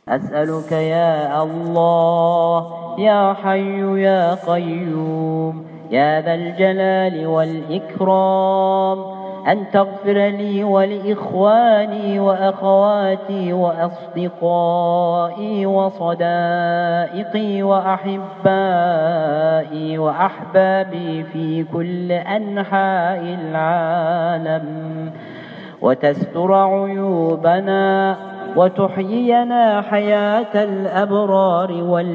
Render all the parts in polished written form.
أسألك يا الله يا حي يا قيوم يا ذا الجلال والإكرام أن تغفر لي ولإخواني وأخواتي وأصدقائي وصدائقي وأحبائي وأحبابي في كل أنحاء العالم، وتستر عيوبنا وتحيينا حياة الأبرار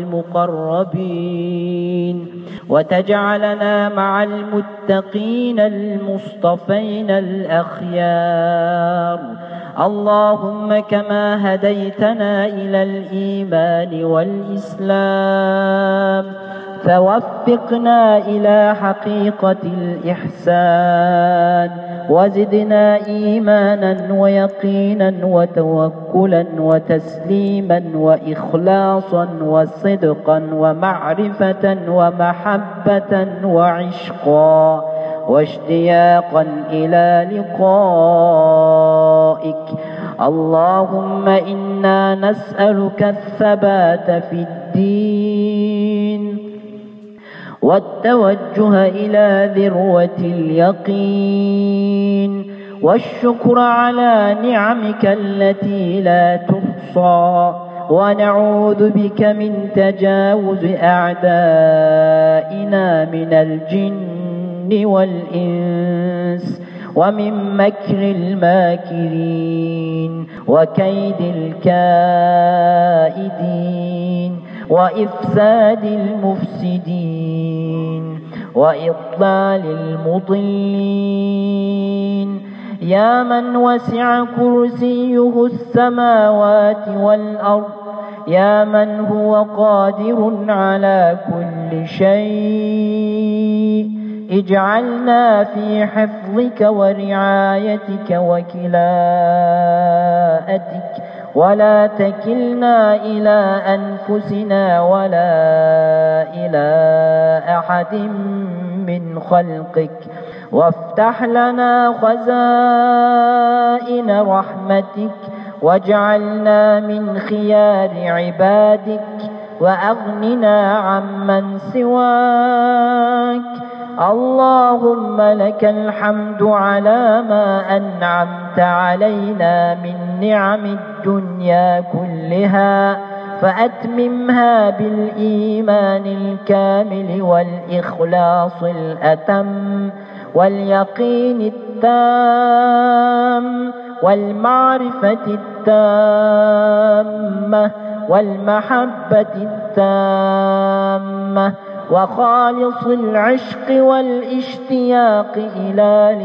والمقربين، وتجعلنا مع المتقين المصطفين الأخيار. اللهم كما هديتنا إلى الإيمان والإسلام فوفقنا إلى حقيقة الإحسان، وزدنا إيمانا ويقينا وتوكلا وتسليما وإخلاصا وصدقا ومعرفة ومحبة وعشقا واشتياقا إلى لقائك. اللهم إنا نسألك الثبات في الدين والتوجه إلى ذروة اليقين والشكر على نعمك التي لا تحصى، ونعوذ بك من تجاوز أعدائنا من الجن والإنس ومن مكر الماكرين وكيد الكائدين وإفساد المفسدين وإضلال المضلين. يا من وسع كرسيه السماوات والأرض، يا من هو قادر على كل شيء، اجعلنا في حفظك ورعايتك وكلاءتك، ولا تكلنا إلى أنفسنا ولا إلى أحد من خلقك، وافتح لنا خزائن رحمتك، واجعلنا من خيار عبادك، وأغننا عمن سواك. اللهم لك الحمد على ما أنعمت علينا من نعم الدنيا كلها، فأتممها بالإيمان الكامل والإخلاص الأتم واليقين التام والمعرفة التامة والمحبة التامة وخالص العشق والاشتياق إلى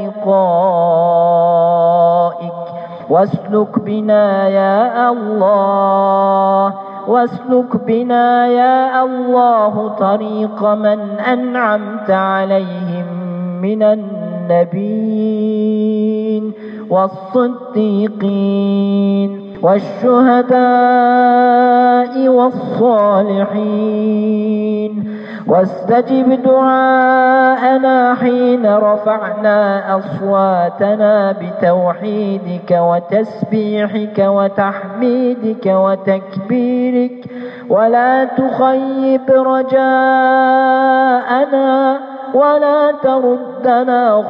لقائك. واسلك بنا يا الله، واسلك بنا يا الله طريق من أنعمت عليهم من النبيين والصديقين والشهداء والصالحين، واستجب دعاءنا حين رفعنا أصواتنا بتوحيدك وتسبيحك وتحميدك وتكبيرك، ولا تخيب رجاءنا ولا تردنا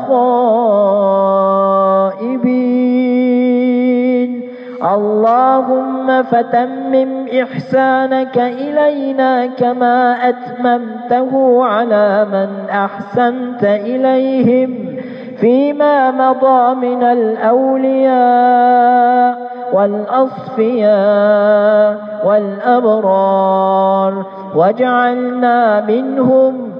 خائبين. اللهم فتمم إحسانك إلينا كما أتممته على من أحسنت إليهم فيما مضى من الأولياء والأصفياء والأبرار، وجعلنا منهم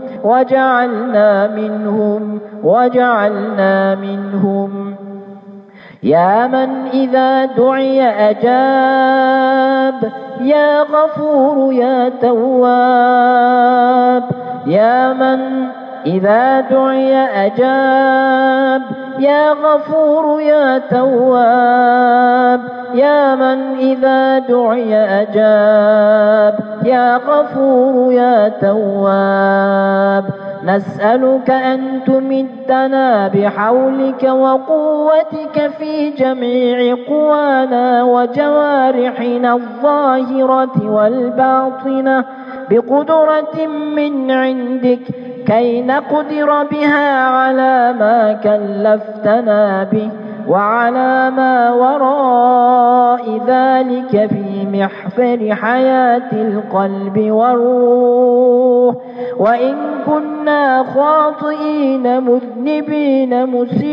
وجعلنا منهم. يا من إذا دعي أجاب، يا غفور يا تواب. يا من إذا دعي أجاب، يا غفور يا تواب. يا من إذا دعي أجاب، يا غفور يا تواب. نسألك أن تمدنا بحولك وقوتك في جميع قوانا وجوارحنا الظاهرة والباطنة بقدرة من عندك كي نقدر بها على ما كلفتنا به وعلى ما وراء ذلك في محفر حياة القلب والروح. وإن كنا خاطئين مذنبين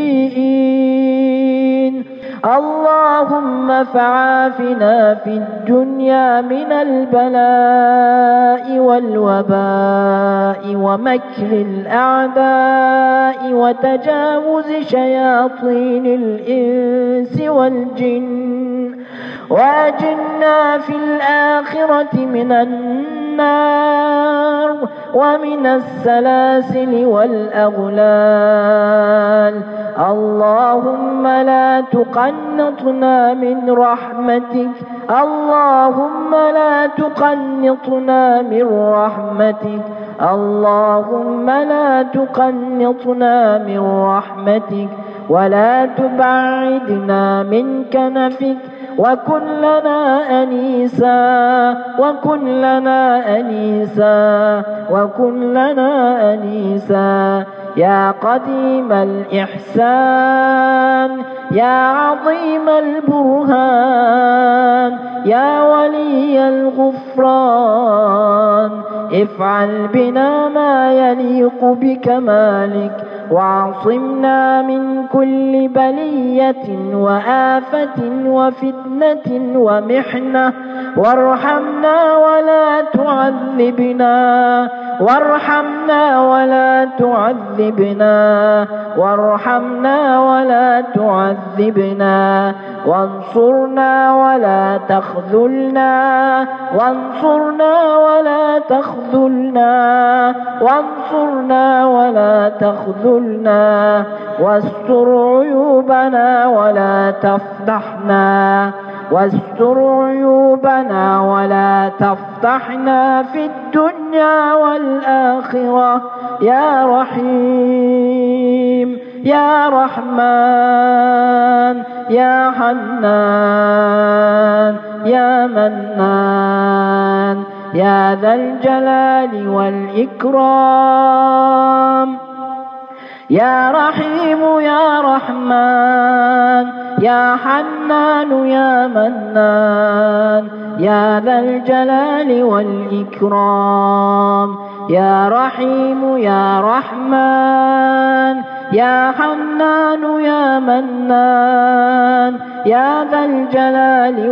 مسيئين اللهم فعافنا في الدنيا من البلاء والوباء ومكر الأعداء وتجاوز شياطين الإنس والجن، وأجرنا في الآخرة من النار ومن السلاسل والأغلال. اللهم لا تقنطنا من رحمتك، اللهم لا تقنطنا من رحمتك، اللهم لا تقنطنا من رحمتك ولا تبعدنا من كنفك. وكن لنا أنيسا وكن لنا أنيسا وكن لنا أنيسا يا قديم الإحسان يا عظيم البرهان يا ولي الغفران. افعل بنا ما يليق بكمالك وعصمنا من كل بلية وآفة وفتنة ومحنة، وارحمنا ولا تعذبنا وارحمنا ولا تعذبنا وارحمنا ولا تعذبنا وانصرنا ولا تخذلنا وانصرنا ولا تخذلنا وانصرنا ولا تخذلنا واستر عيوبنا ولا تفضحنا واستر عيوبنا ولا تفضحنا في الدنيا والآخرة يا رحيم يا رحمن يا حنان يا منان يا ذا الجلال والإكرام. يا رحيم يا رحمن يا حنان يا منان يا ذا الجلال والإكرام. يا رحيم يا رحمن يا حنان يا منان يا ذا الجلال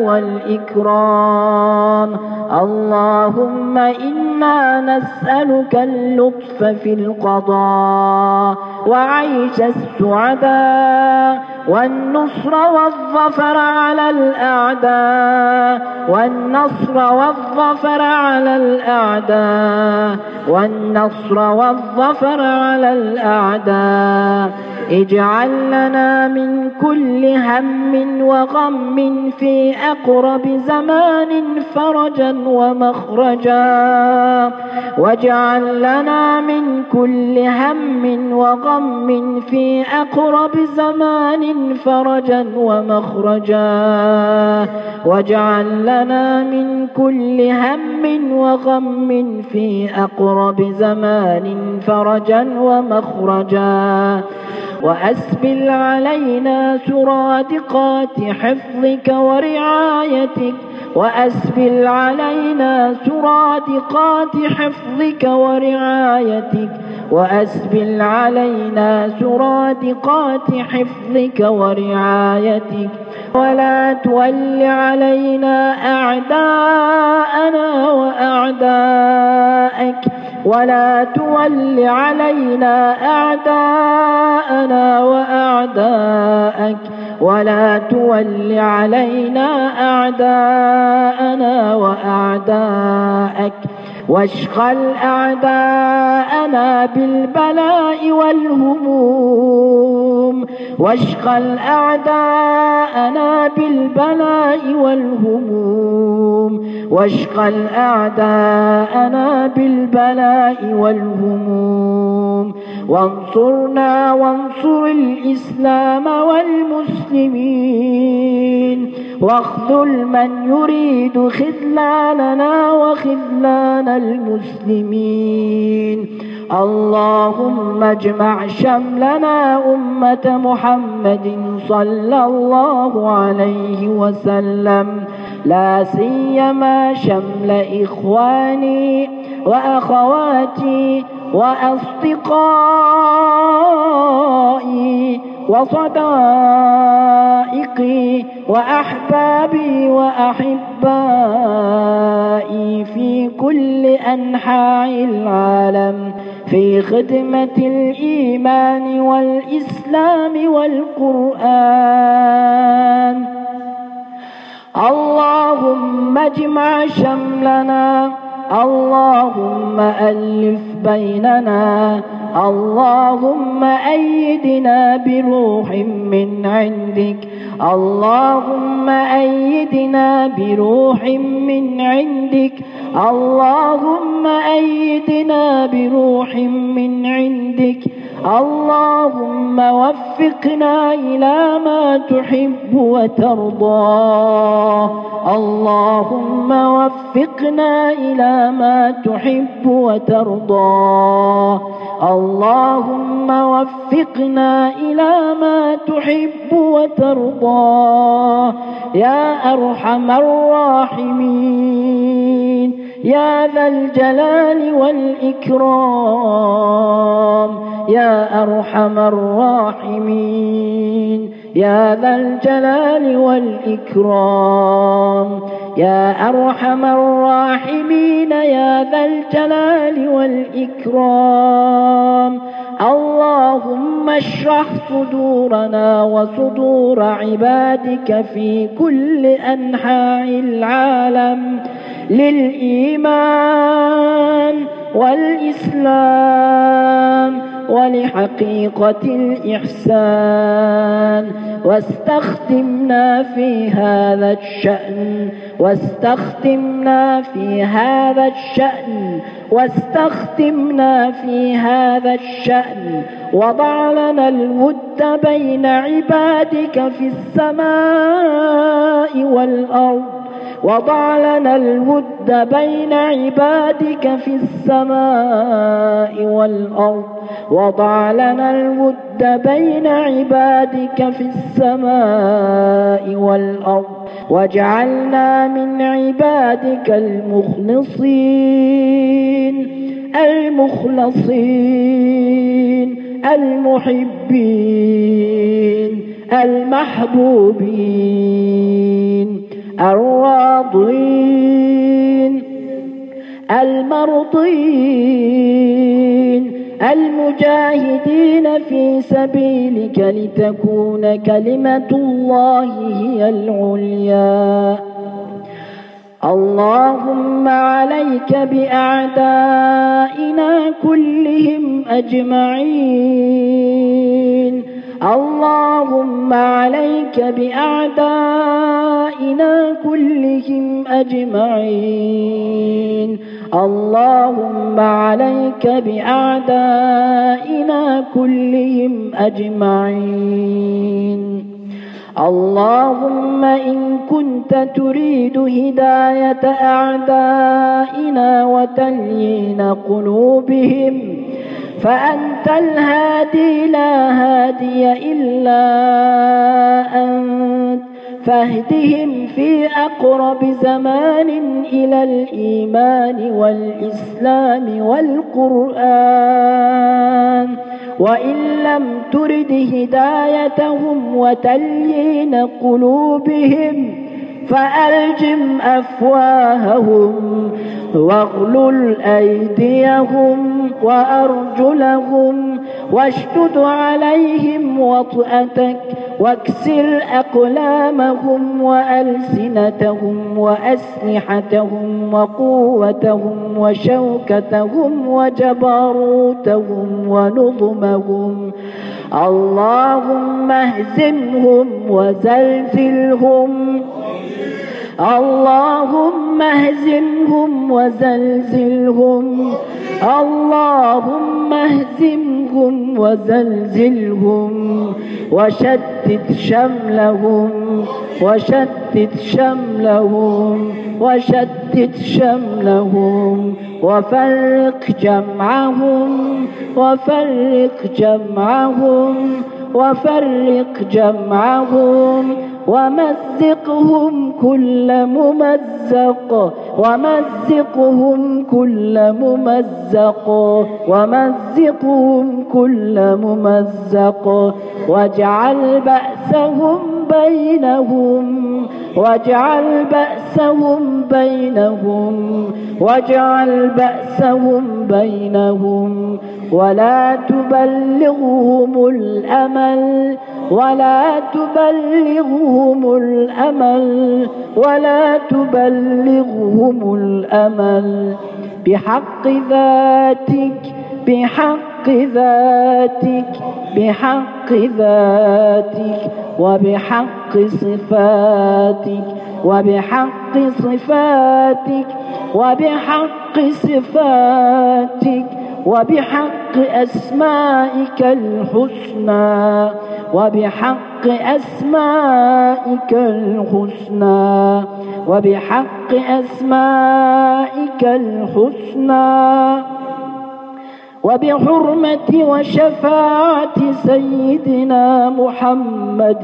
والإكرام. اللهم إنا نسألك اللطف في القضاء وعيش السعداء والنصر والظفر على الأعداء والنصر والظفر على الأعداء والنصر والظفر على الأعداء. اجعل لنا من كل هم وغم في أقرب زمان فرجا ومخرجا، واجعل لنا من كل هم وغم في أقرب زمان فرجا ومخرجا، واجعل لنا من كل هم وغم في أقرب زمان فرجا ومخرجا. وأسبل علينا سرادقات حفظك ورعايتك، وأسبل علينا سرادقات حفظك ورعايتك، وأسبل علينا سرادقات حفظك ورعايتك. ولا تول علينا أعداءنا وأعداءك، ولا تول علينا أعداءنا وأعداءك، ولا تول علينا أعداءنا وأعداءك. واشغل أعداءنا بالبلاء والهموم، واشغل أعداءنا بالبلاء والهموم، واشغل أعداءنا بالبلاء والهموم، وانصرنا وانصر الإسلام والمسلمين، واخذل من يريد خذلاننا وخذلان المسلمين. اللهم اجمع شملنا أمة محمد صلى الله عليه وسلم، لا سيما شمل إخواني وأخواتي وأصدقائي وصدائقي وأحبابي وأحبائي في كل أنحاء العالم في خدمة الإيمان والإسلام والقرآن. اللهم اجمع شملنا، اللهم ألف بيننا، اللهم أيدنا بروح من عندك، اللهم أيدنا بروح من عندك، اللهم أيدنا بروح من عندك. اللهم وفقنا إلى ما تحب وترضى، اللهم وفقنا إلى ما تحب وترضى، اللهم وفقنا إلى ما تحب وترضى يا أرحم الراحمين، يا ذا الجلال والإكرام، يا أرحم الراحمين، يا ذا الجلال والإكرام، يا أرحم الراحمين، يا ذا الجلال والإكرام. اللهم اشرح صدورنا وصدور عبادك في كل أنحاء العالم للإيمان والإسلام ولحقيقة الإحسان، واستخدمنا في هذا الشأن، واستخدمنا في هذا الشأن، واستخدمنا في هذا الشأن. وضع لنا الود بين عبادك في السماء والأرض، وضع لنا الود بين عبادك في السماء والأرض، وضع لنا الود بين عبادك في السماء والأرض، واجعلنا من عبادك المخلصين المخلصين المحبين المحبوبين الراضين المرضين المجاهدين في سبيلك لتكون كلمة الله هي العليا. اللهم عليك بأعدائنا كلهم أجمعين، اللهم عليك بأعدائنا كلهم أجمعين، اللهم عليك بأعدائنا كلهم أجمعين. اللهم إن كنت تريد هداية أعدائنا وتليين قلوبهم فأنت الهادي لا هادي إلا أنت، فاهدهم في أقرب زمان إلى الإيمان والإسلام والقرآن، وإن لم ترد هدايتهم وتليين قلوبهم فألجم أفواههم واغلل أيديهم وأرجلهم واشدد عليهم وطأتك واكسر أقلامهم وألسنتهم وأسلحتهم وقوتهم وشوكتهم وجبروتهم ونظمهم. اللهم اهزمهم وزلزلهم اللهم اهزمهم وزلزلهم، اللهم اهزمهم وزلزلهم، وشتت شملهم، وشتت شملهم، وشتت شملهم، وفرق جمعهم، وفرق جمعهم، وفرق جمعهم، ومزقهم كل ممزق، ومزقهم كل ممزق، ومزقهم كل ممزق، واجعل بأسهم بينهم، واجعل بأسهم بينهم، واجعل بأسهم بينهم، ولا تبلغهم الأمل، ولا تبلغهم الأمل، ولا تبلغهم الأمل، بحق ذاتك، بحق ذاتك، بحق ذاتك، وبحق صفاتك، وبحق صفاتك، وبحق صفاتك، وبحق أسمائك الحسنى، وبحق أسمائك الحسنى، وبحق أسمائك الحسنى، وبحرمة وشفاعة سيدنا محمد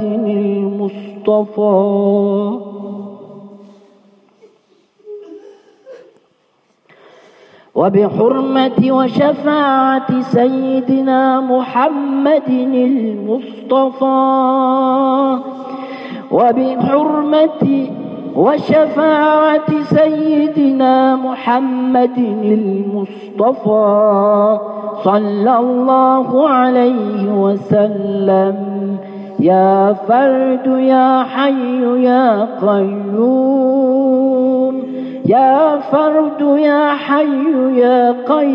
المصطفى، وبحرمة وشفاعة سيدنا محمد المصطفى، وبحرمة وشفاعة سيدنا محمد المصطفى صلى الله عليه وسلم. يا فرد يا حي يا قيوم، يا فرد يا حي يا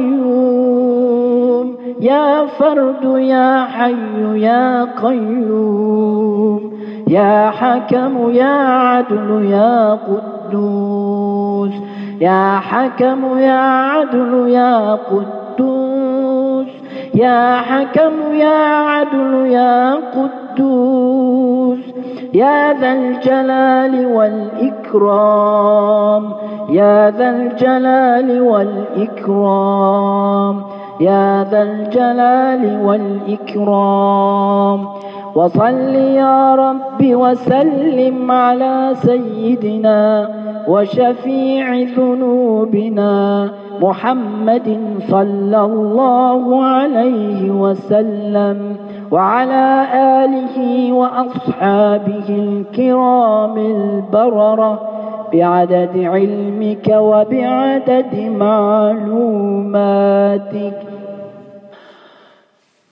قيوم، يا فرد يا حي يا قيوم، يا حكم يا عدل يا قدوس، يا حكم يا عدل يا قدوس، يا حكم يا عدل يا قدوس، يا ذا الجلال والإكرام، يا ذا الجلال والإكرام، يا ذا الجلال والإكرام. وصل يا رب وسلم على سيدنا وشفيع ذنوبنا محمد صلى الله عليه وسلم، وعلى آله وأصحابه الكرام البررة، بعدد علمك وبعدد معلوماتك.